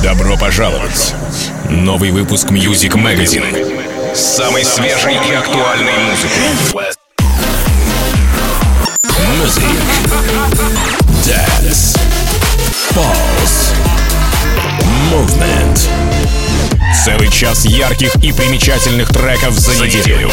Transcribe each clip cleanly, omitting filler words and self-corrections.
Добро пожаловать! Новый выпуск Music Magazine с самой свежей и актуальной музыкой. Music, Dance, Pulse, Movement. Целый час ярких и примечательных треков за неделю.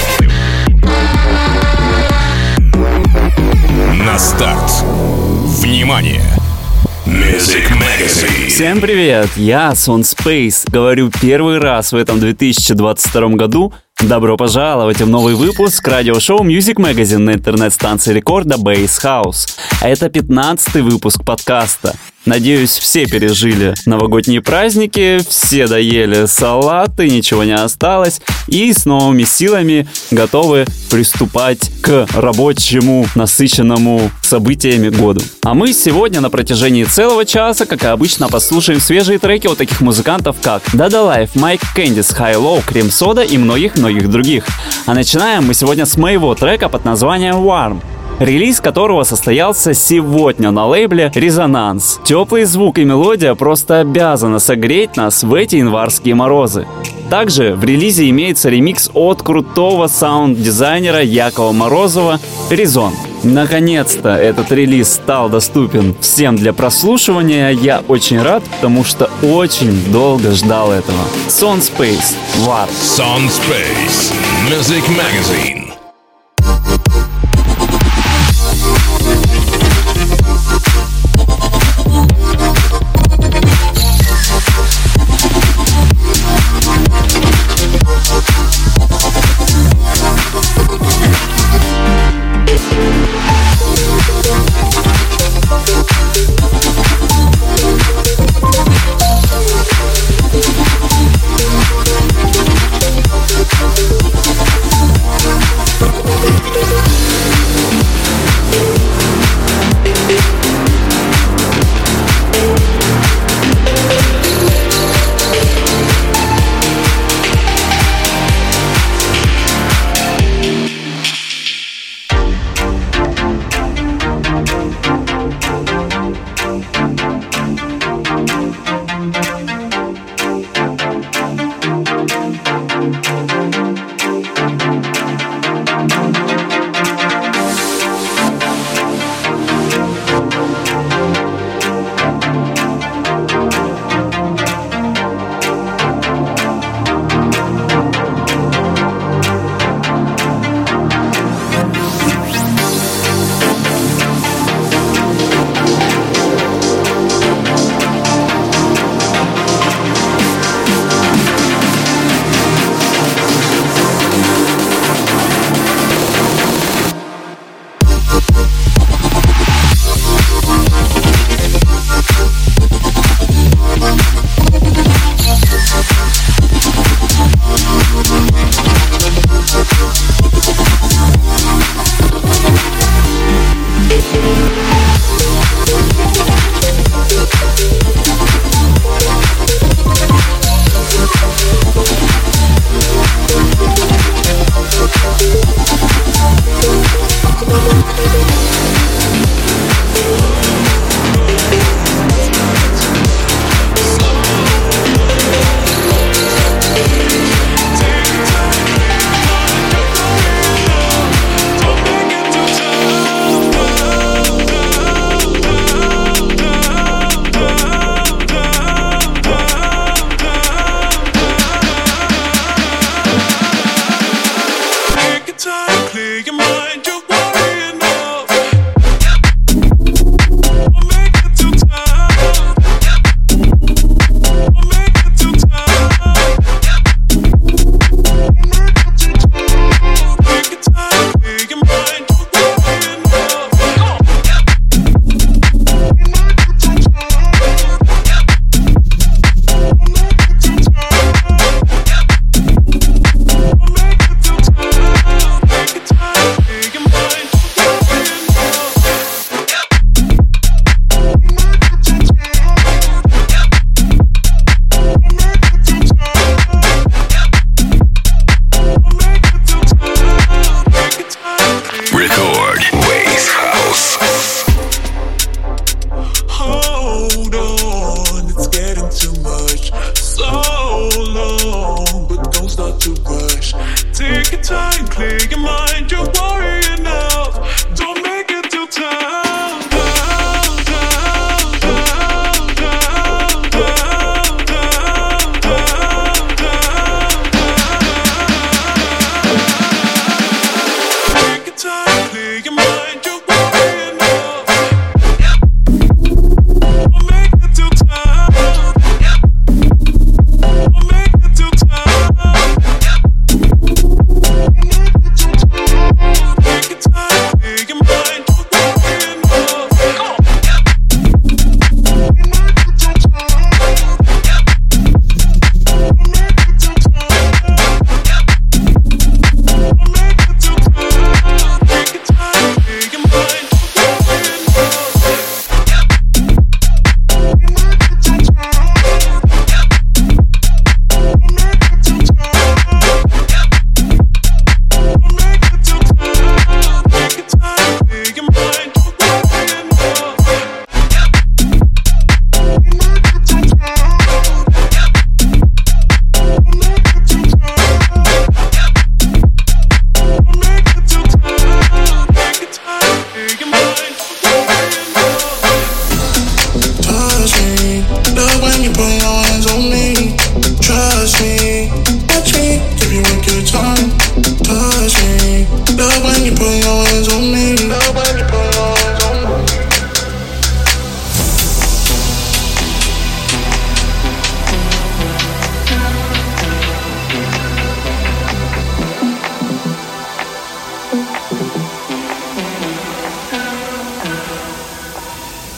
На старт. Внимание! Music Magazine. Всем привет, я Сон Space. Говорю первый раз в этом 2022 году. Добро пожаловать в новый выпуск радиошоу Music Magazine на интернет-станции рекорда Bass House. А это 15-й выпуск подкаста. Надеюсь, все пережили новогодние праздники, все доели салаты, ничего не осталось, и с новыми силами готовы приступать к рабочему, насыщенному событиями году. А мы сегодня на протяжении целого часа, как и обычно, послушаем свежие треки от таких музыкантов, как Dada Life, Mike Candice, High Low, Cream Soda и многих других. А начинаем мы сегодня с моего трека под названием Warm, релиз которого состоялся сегодня на лейбле «Резонанс». Теплый звук и мелодия просто обязаны согреть нас в эти январские морозы. Также в релизе имеется ремикс от крутого саунд-дизайнера Якова Морозова «Резон». Наконец-то этот релиз стал доступен всем для прослушивания. Я очень рад, потому что очень долго ждал этого. Сон Space, War. Сон Space, Music Magazine.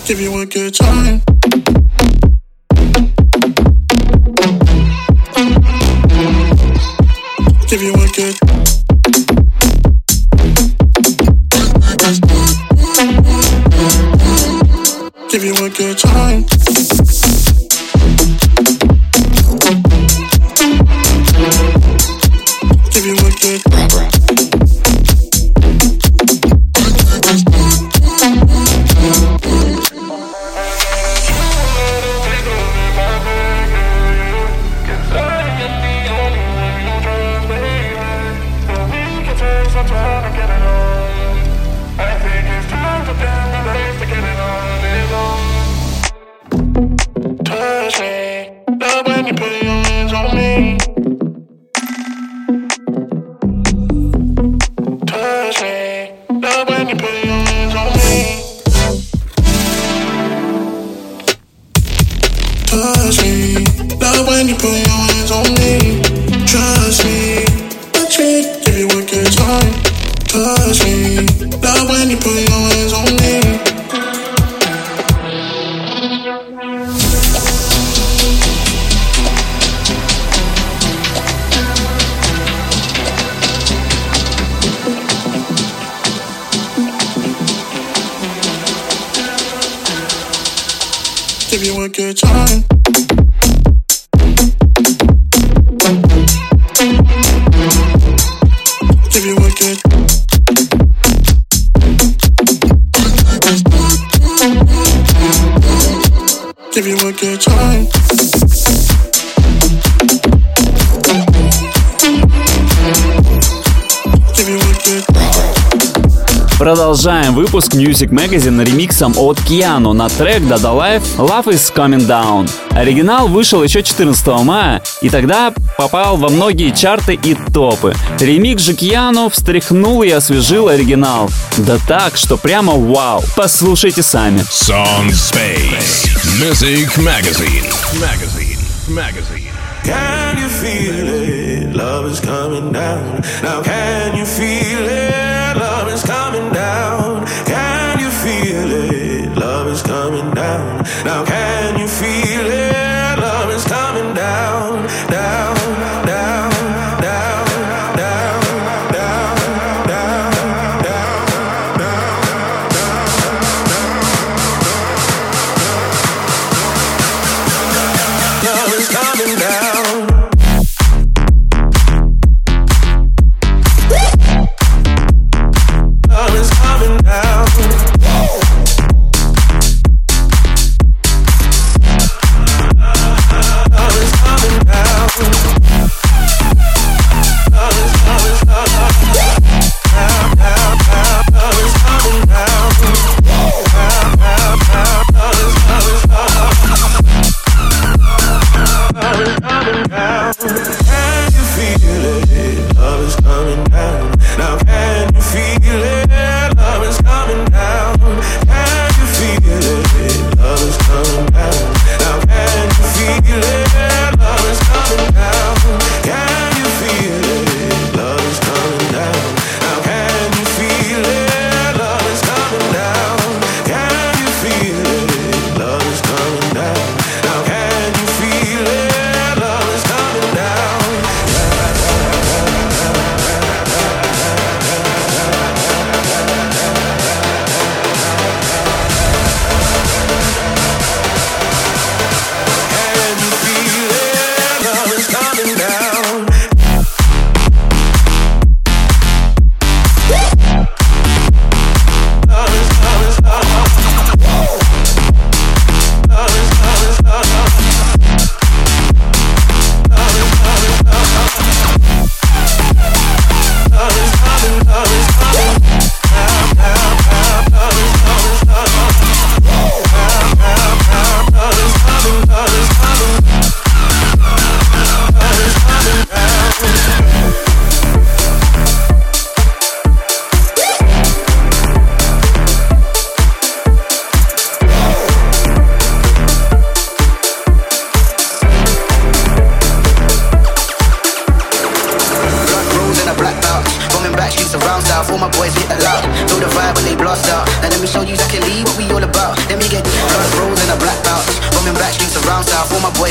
Give you a good time. Give you a good. Give you a good time. Give you a good. Touch me, love when you put your hands on me. Touch me, love when you put your hands on me. Touch me, love when you put your hands on me. Trust me, touch me, give you a good time. Touch me, love when you put your hands on me. Give you a good time. Give you a good. Give you a good time. Give you a good. Продолжаем выпуск Music Magazine ремиксом от Киано на трек Dada Life Love is Coming Down. Оригинал вышел еще 14 мая и тогда попал во многие чарты и топы. Ремикс же Киано встряхнул и освежил оригинал. Да так, что прямо вау. Послушайте сами. Sound Space Music Magazine. Can you feel it? Love is coming down. Now can you feel it? Love is coming down. Can you feel it? Love is coming down. Now can you feel it? Love is coming down, down, down, down, down, down, down, down, down. Love is coming down.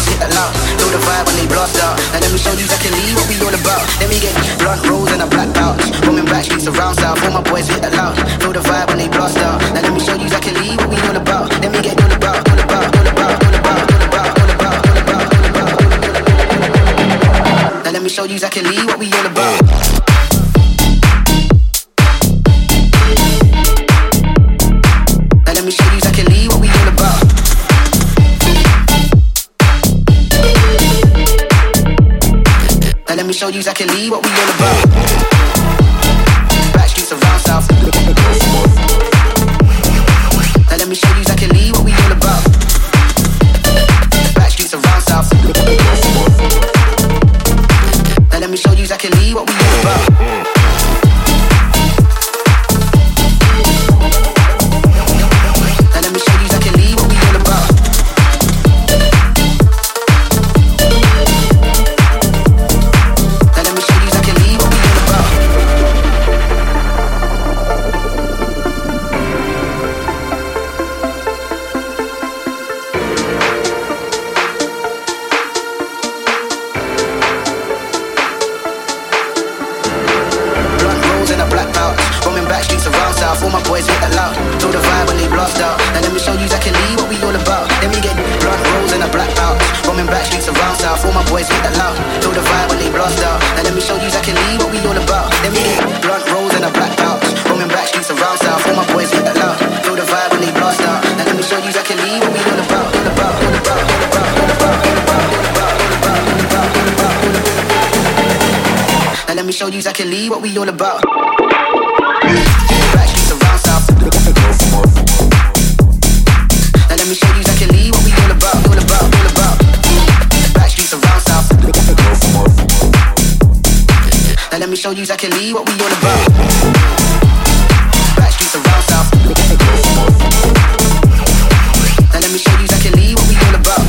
boys hit the loud. Feel the vibe when they blast out. Now let me show you exactly what we all about. Let me get blunt rolls and a black pouch. Roaming back streets around south. All my boys hit the loud. Feel the vibe when they blast out. Now let me show you exactly what we all about. Let me get all about, all about, all about, all about, all about, all about, all about, all about, all about. Now let me show you exactly what we all about. Let me show you exactly what we all about. Now let me show you exactly what we all about. Back streets around south. Now let me show you exactly what we all about. Back streets around south. Now let me show you exactly what we all about. All my boys hit the loud. Feel the vibe when they blast out. Now let me show you exactly what we all about. Let me get blunt rolls and a black pouch. Roaming back streets around south. All my boys hit the loud. Feel the vibe when they blast out. Now let me show you exactly what we all about. Let me get blunt rolls and a black pouch. Roaming back streets around south. All my boys hit the loud. Feel the vibe when they blast out. Now let me show you exactly what we all about. All about, all about, all about, all about, all about, all about, all about, all about, all about, all about. Now let me show you exactly what we all about. Now let me show you exactly what we all about, all about, all about. Back streets around south. Now let me show you exactly what we all about. Back streets around south. Now let me show you exactly what we all about.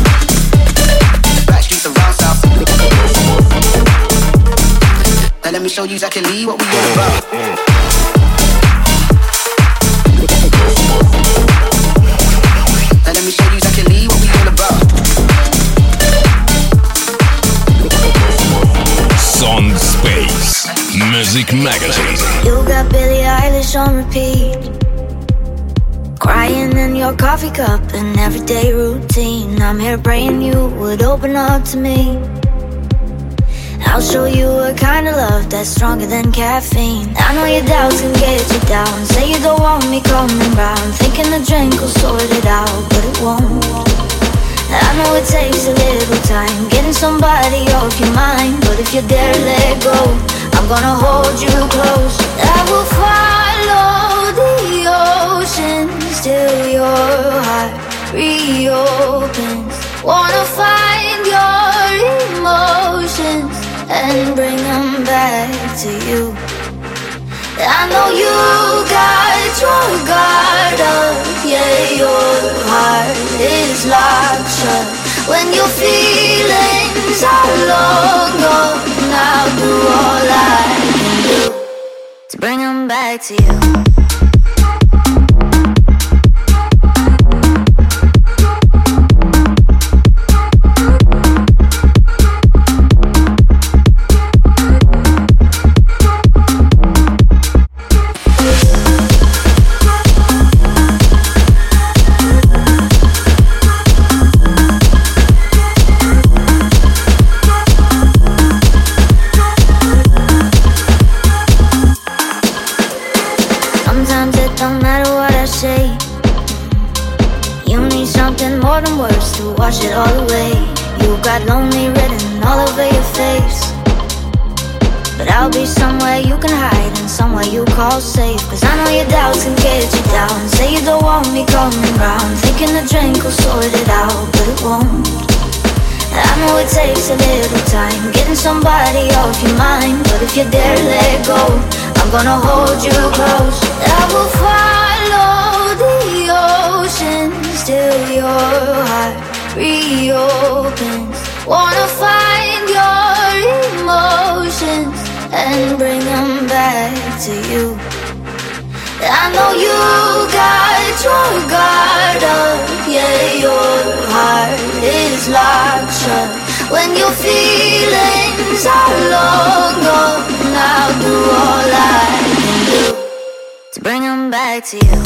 Back streets around south. Now let me show you exactly what we all about. Let me show you exactly what we all about. Sound Space Music Magazine. You got Billie Eilish on repeat, crying in your coffee cup, an everyday routine. I'm here praying you would open up to me. I'll show you a kind of love that's stronger than caffeine. I know your doubts can get you down. Say you don't want me coming round, thinking the drink will sort it out, but it won't. I know it takes a little time getting somebody off your mind, but if you dare let go, I'm gonna hold you close. I will follow the oceans till your heart reopens. Wanna find your emotions and bring them back to you. I know you got your guard up, yeah, your heart is locked shut. When your feelings are long gone, I'll do all I can do to bring them back to you. More than words to wash it all away. You got lonely written all over your face, but I'll be somewhere you can hide and somewhere you call safe. Cause I know your doubts can get you down. Say you don't want me coming round, thinking the drink will sort it out, but it won't. I know it takes a little time getting somebody off your mind, but if you dare let go, I'm gonna hold you close. I will follow the oceans till your heart reopens. Wanna find your emotions and bring them back to you. I know you got your guard up, yeah, your heart is locked shut. When your feelings are long gone, I'll do all I can do to bring them back to you.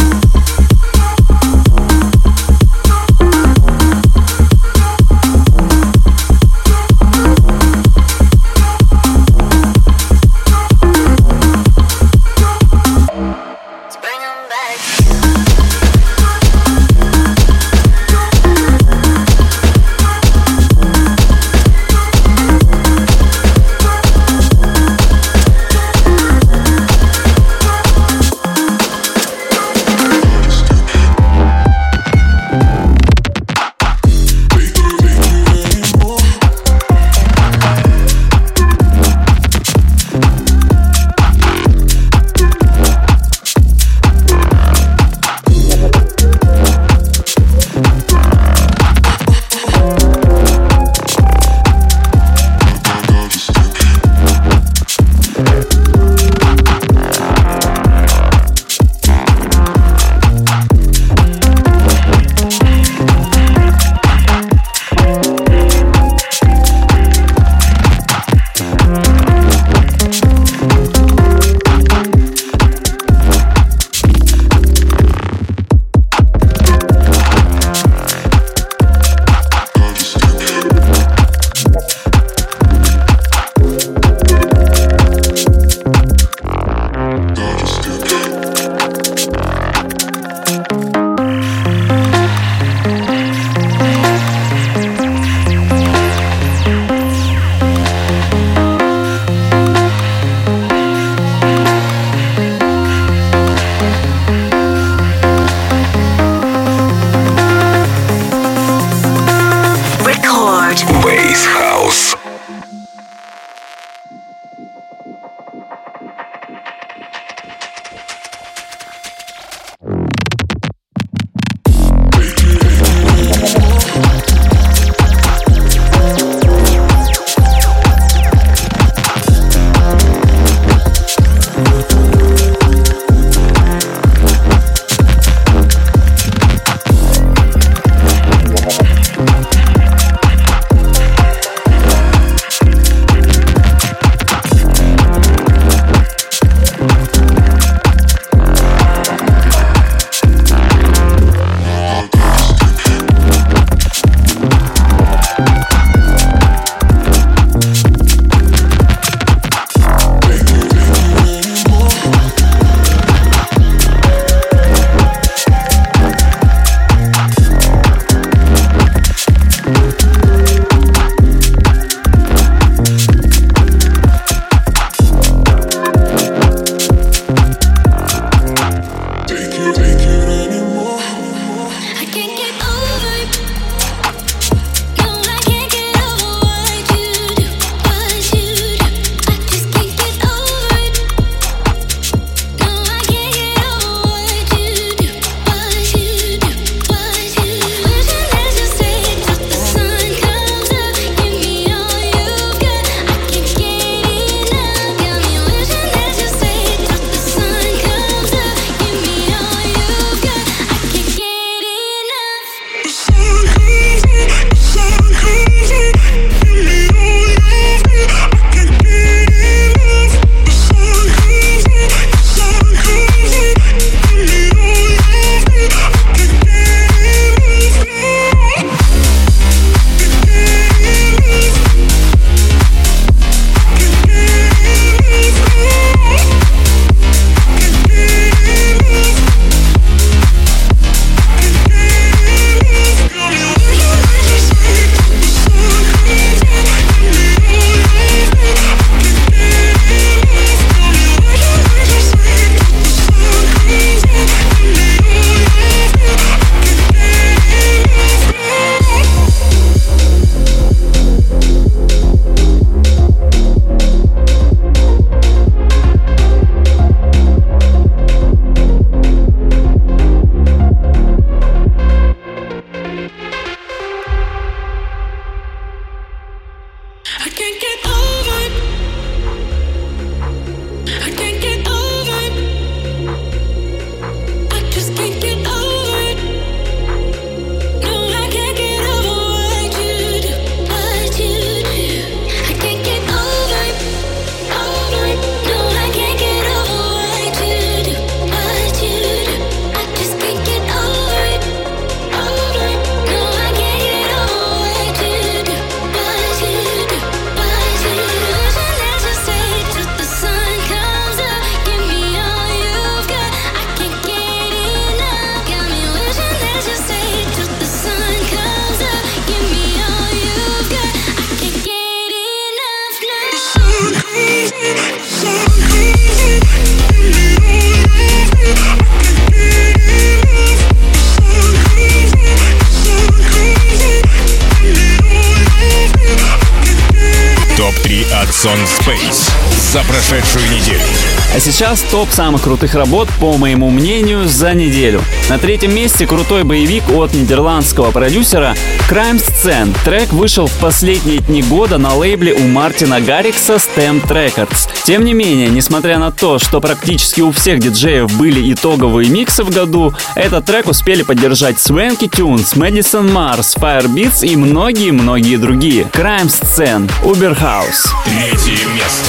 Son Space за прошедшую неделю. А сейчас топ самых крутых работ, по моему мнению, за неделю. На третьем месте крутой боевик от нидерландского продюсера Crime Scene. Трек вышел в последние дни года на лейбле у Мартина Гаррикса Stamped Records. Тем не менее, несмотря на то, что практически у всех диджеев были итоговые миксы в году, этот трек успели поддержать Swanky Tunes, Madison Mars, Firebeats и многие-многие другие. Crime Scene, Uber House. Третье место.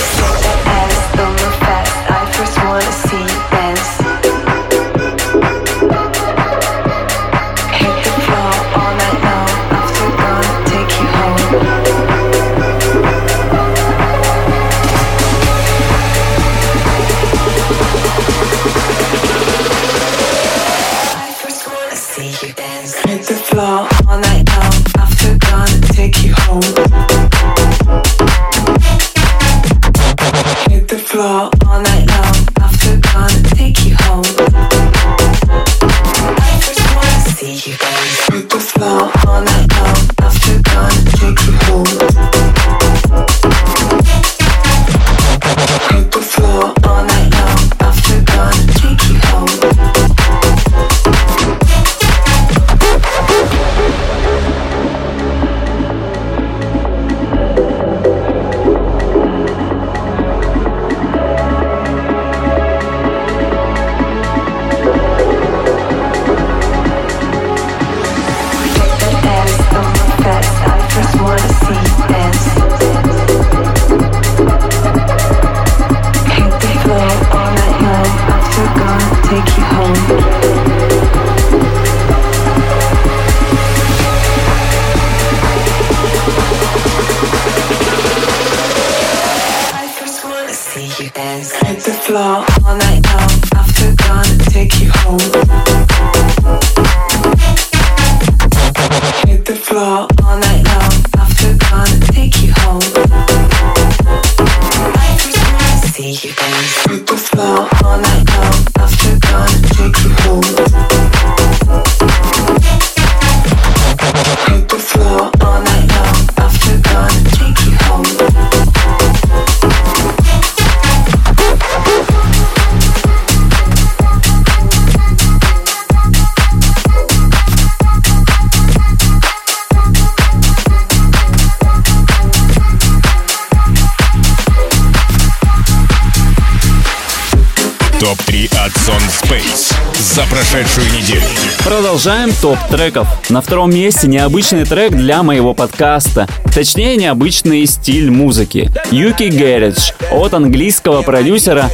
Топ-3 от Son Space за прошедшую неделю. Продолжаем топ треков. На втором месте необычный трек для моего подкаста. Точнее, необычный стиль музыки. UK Garage от английского продюсера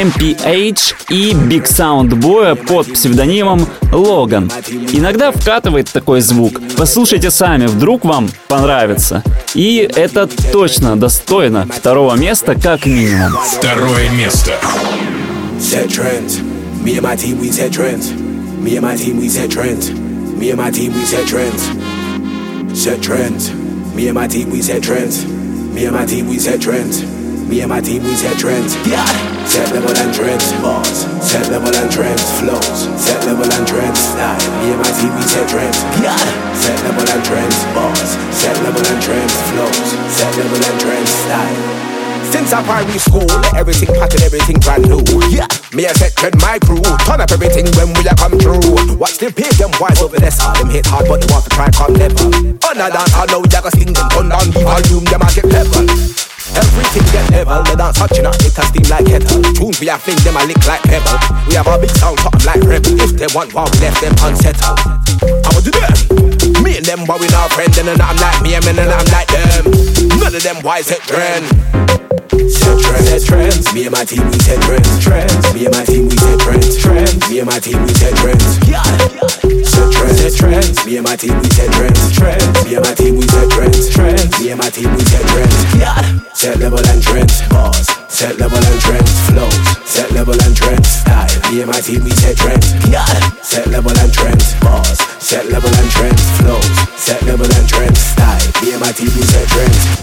MPH и Big Sound Boy под псевдонимом Logan. Иногда вкатывает такой звук. Послушайте сами, вдруг вам понравится. И это точно достойно второго места как минимум. Второе место. Set trends. Me and my team, we set trends. Me and my team, we set trends. Me and my team, we set trends. Set trends. Me and my team, we set trends. Me and my team, we set trends. Me and my team, we set trends. Yeah. Set level and trends. Bars. Set level and trends. Flows. Set level and trends. Style. Me and my team, we set trends. Yeah. Set level and trends. Bars. Set level and trends. Flows. Set level and trends. Style. Since our primary school, everything pattern, everything brand new. Yeah, me a set trend, my crew. Turn up everything when we a come through. Watch them pay them wise over there. Them hit hard, but they want to try come never. On a dance, I know you gotta sing them. Turn down the volume, them a get level. Everything get level. The dance touching up, it a steam like kettle. Tunes we a fling, them a lick like pebble. We have a big sound, something like rebel. If they want one, we left them unsettled. I'ma do them. Me and them, but we not friends. And I'm like me, and I'm like them. None of them wise set trend. Set trends, set trends. Me and my team, we set trends. Trends. Me and my team, we set trends. Trends. Me and my team, we set trends. Yeah. Set trends, set trends. Me and my team, we set trends. Trends. Me and my team, we set trends. Trends. Me and my team, we set trends. Yeah. Set level and trends. Bars. Set level and trends. Flows. Set level and trends. Style. Me and my team, we set trends. Yeah. Set level and trends. Bars. Set level and trends. Flows. Set level and trends. Style. Me and my team, we set trends.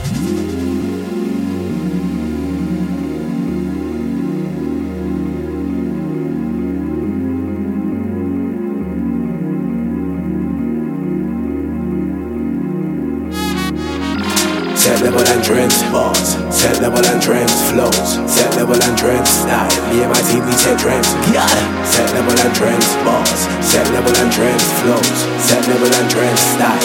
Set level and trends, bars. Set level and trends, flows. Set level and trends, style. Me and my team, we set trends. Yeah. Set level and trends, bars. Set level and trends, flows. Set level and trends, style.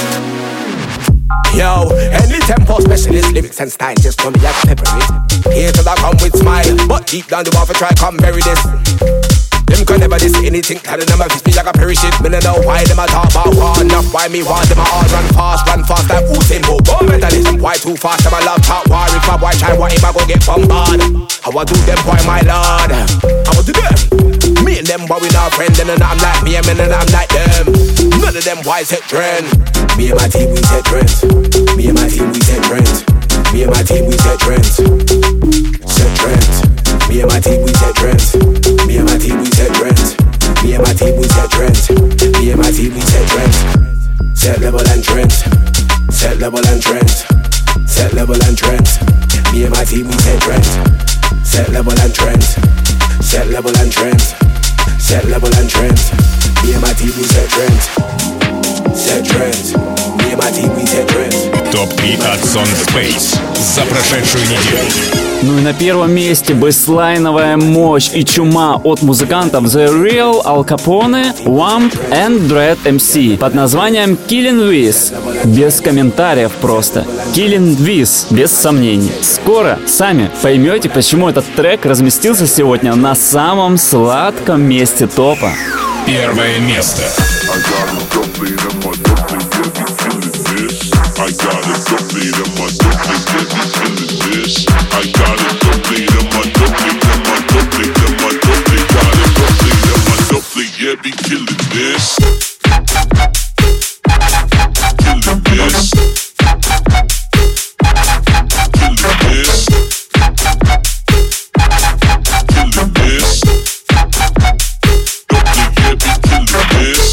Yo, any tempo specialist, lyrics and style, just for me, I pepper it. Here till I come with smile, but deep down the wall for try come bury this. Them can never diss anything, telling them I fish me like a perish it. Me no know why them a talk about war enough, why me want them a all run fast like Usain Bolt. Go mentalism, why too fast, them a love talk war. If a boy try what him I go get bombarded. How I do them boy my lord, how I do them. Me and them boy we not friends, and I'm like me and I'm like them. None of them boys set trend. Me and my team we set trends. Me and my team we set trends. Me and my team we set trends. Set trends. Me and my team we set trends. Me and my team we set trends. Me and my team we set trends. Me and my team we set trends. Set level and trends. Set level and trends. Set level and trends. Me and my team we set trends. Set level and trends. Set level and trends. Set level and trends. Me and my team we set trends. Set trends. Me and my team we set trends. Топ-3 от Son Space за прошедшую неделю. Ну и на первом месте бейслайновая мощь и чума от музыкантов The Real, Al Capone, Wamp and Dread MC под названием Killin' With. Без комментариев просто. Killin' With, без сомнений. Скоро сами поймете, почему этот трек разместился сегодня на самом сладком месте топа. Первое место. I got it complete in my duplicate, feeling this. I got it complete in my duplicate, got it complete in my duplicate, yeah, be killing this. Killing this. Killing this. Killing this. Duplicate, be killing this.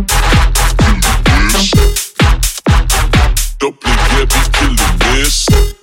Duplicate, be killing this.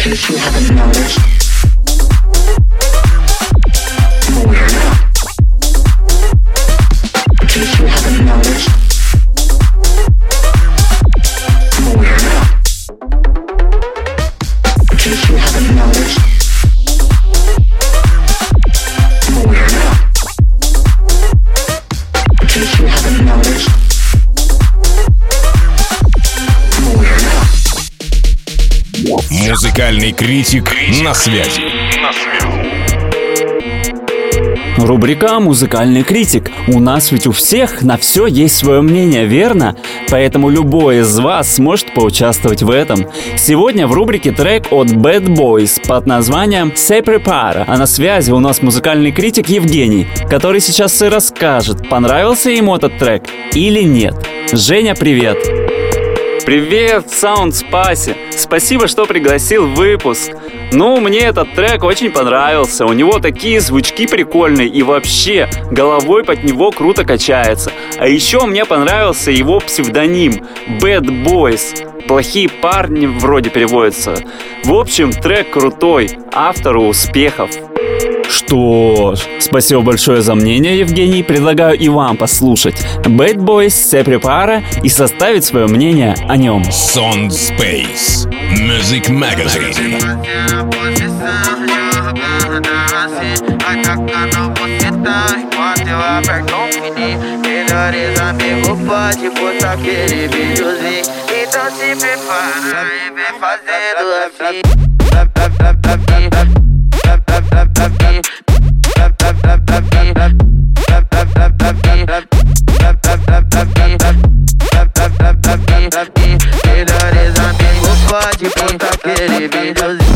case you haven't noticed. Oh yeah. In case you haven't noticed. Oh yeah. In case you haven't noticed. Oh yeah. In case you haven't noticed. Музыкальный критик на связи. Рубрика «Музыкальный критик». У нас ведь у всех на все есть свое мнение, верно? Поэтому любой из вас сможет поучаствовать в этом. Сегодня в рубрике трек от Bad Boys под названием «Se Prepara». А на связи у нас музыкальный критик Евгений, который сейчас и расскажет, понравился ему этот трек или нет. Женя, привет! Привет, Soundspace! Спасибо, что пригласил в выпуск. Ну, мне этот трек очень понравился. У него такие звучки прикольные и вообще головой под него круто качается. А еще мне понравился его псевдоним Bad Boys. Плохие парни вроде переводится. В общем, трек крутой, автору успехов. Что ж, спасибо большое за мнение, Евгений. Предлагаю и вам послушать Bad Boys, Se Prepara и составить свое мнение о нем. Soundspace Music Magazine. Melhores amigos pode postar aquele videozinho. Então se prepara e vem fazendo assim. Melhores amigos pode postar aquele videozinho.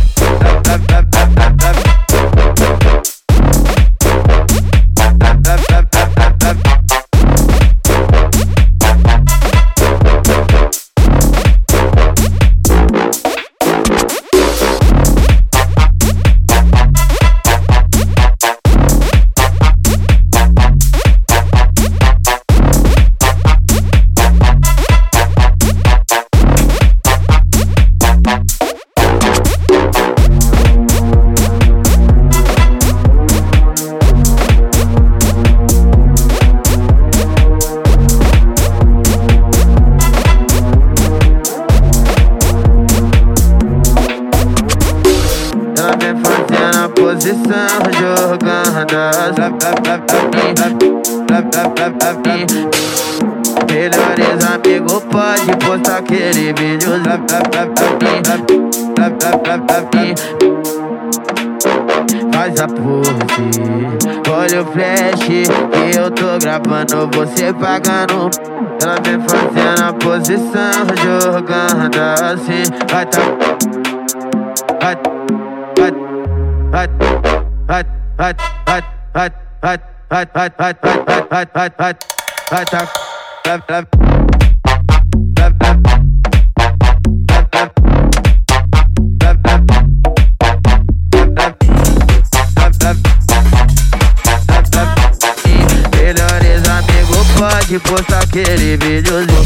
Melhores amigos pode postar aquele vídeo. Faz a pose, olha o flash que eu tô gravando, você pagando. Ela vem fazendo a posição, jogando assim. Vai tá, vai, vai, vai, vai, vai, vai, vai, vai, vai, vai, vai, vai, vai, vai, vai tá. Melhores amigos pode postar aquele videozinho.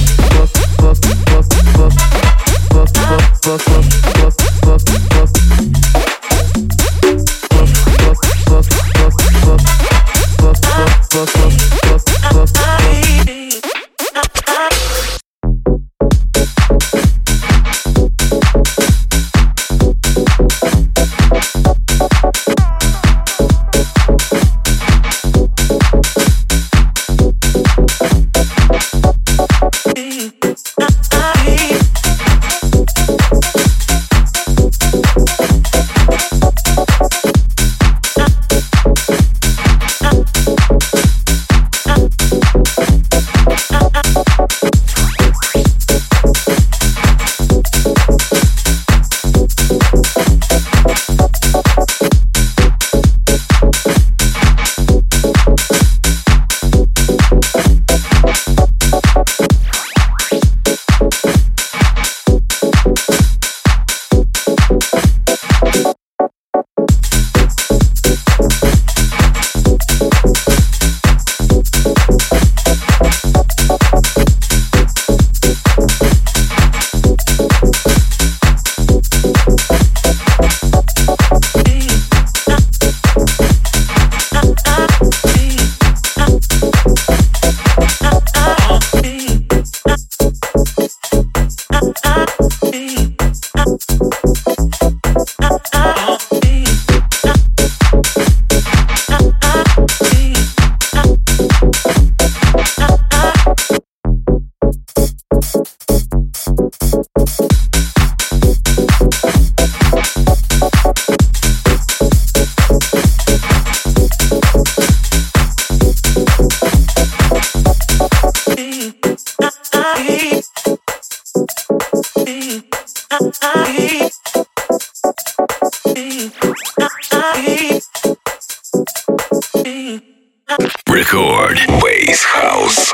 Record Bass House.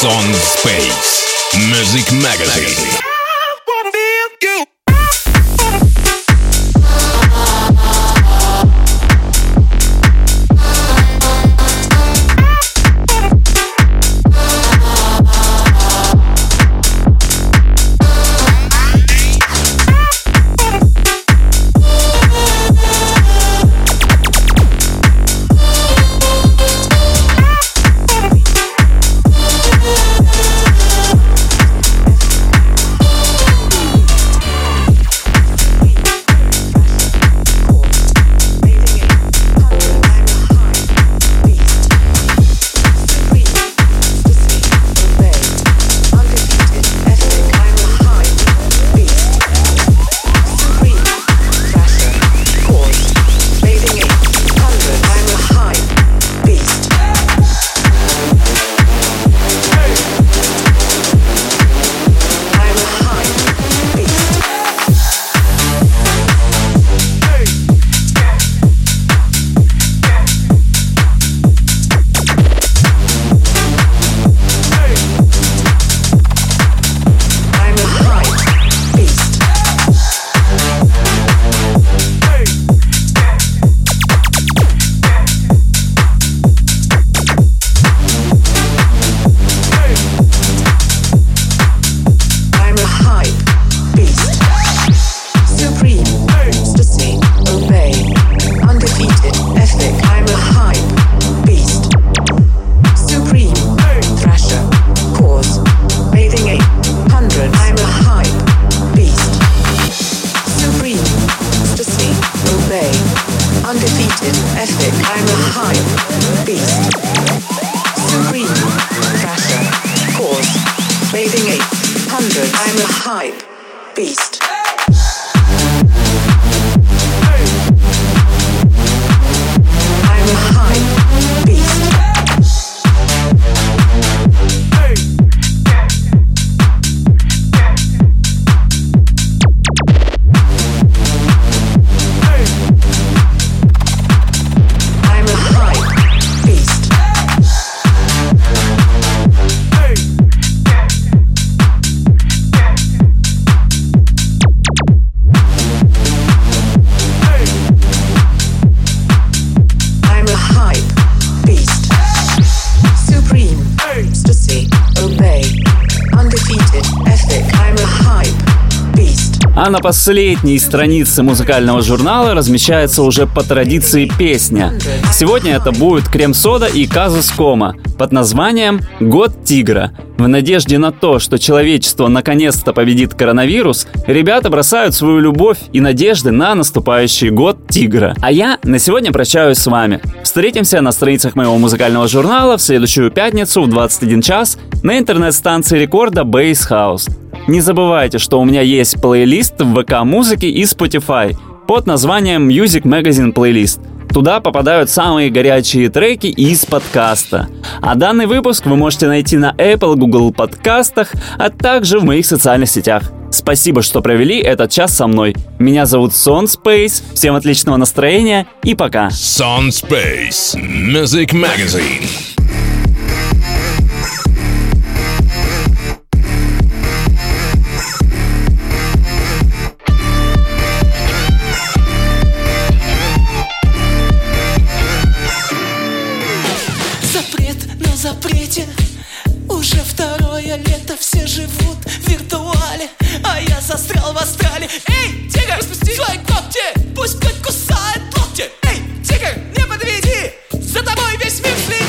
Son Space Music Magazine. А на последней странице музыкального журнала размещается уже по традиции песня. Сегодня это будет Крем-Сода и Казус Кома под названием «Год тигра». В надежде на то, что человечество наконец-то победит коронавирус, ребята бросают свою любовь и надежды на наступающий год тигра. А я на сегодня прощаюсь с вами. Встретимся на страницах моего музыкального журнала в следующую пятницу в 21 час на интернет-станции рекорда Bass House. Не забывайте, что у меня есть плейлист в ВК-музыке и Spotify под названием Music Magazine Playlist. Туда попадают самые горячие треки из подкаста. А данный выпуск вы можете найти на Apple, Google подкастах, а также в моих социальных сетях. Спасибо, что провели этот час со мной. Меня зовут Son Space. Всем отличного настроения и пока. Son Space Music Magazine. Запрете. Уже второе лето, все живут в виртуале, а я застрял в астрале. Эй, тигр, распусти свои когти, пусть хоть кусает локти. Эй, тигр, не подведи, за тобой весь мир следит.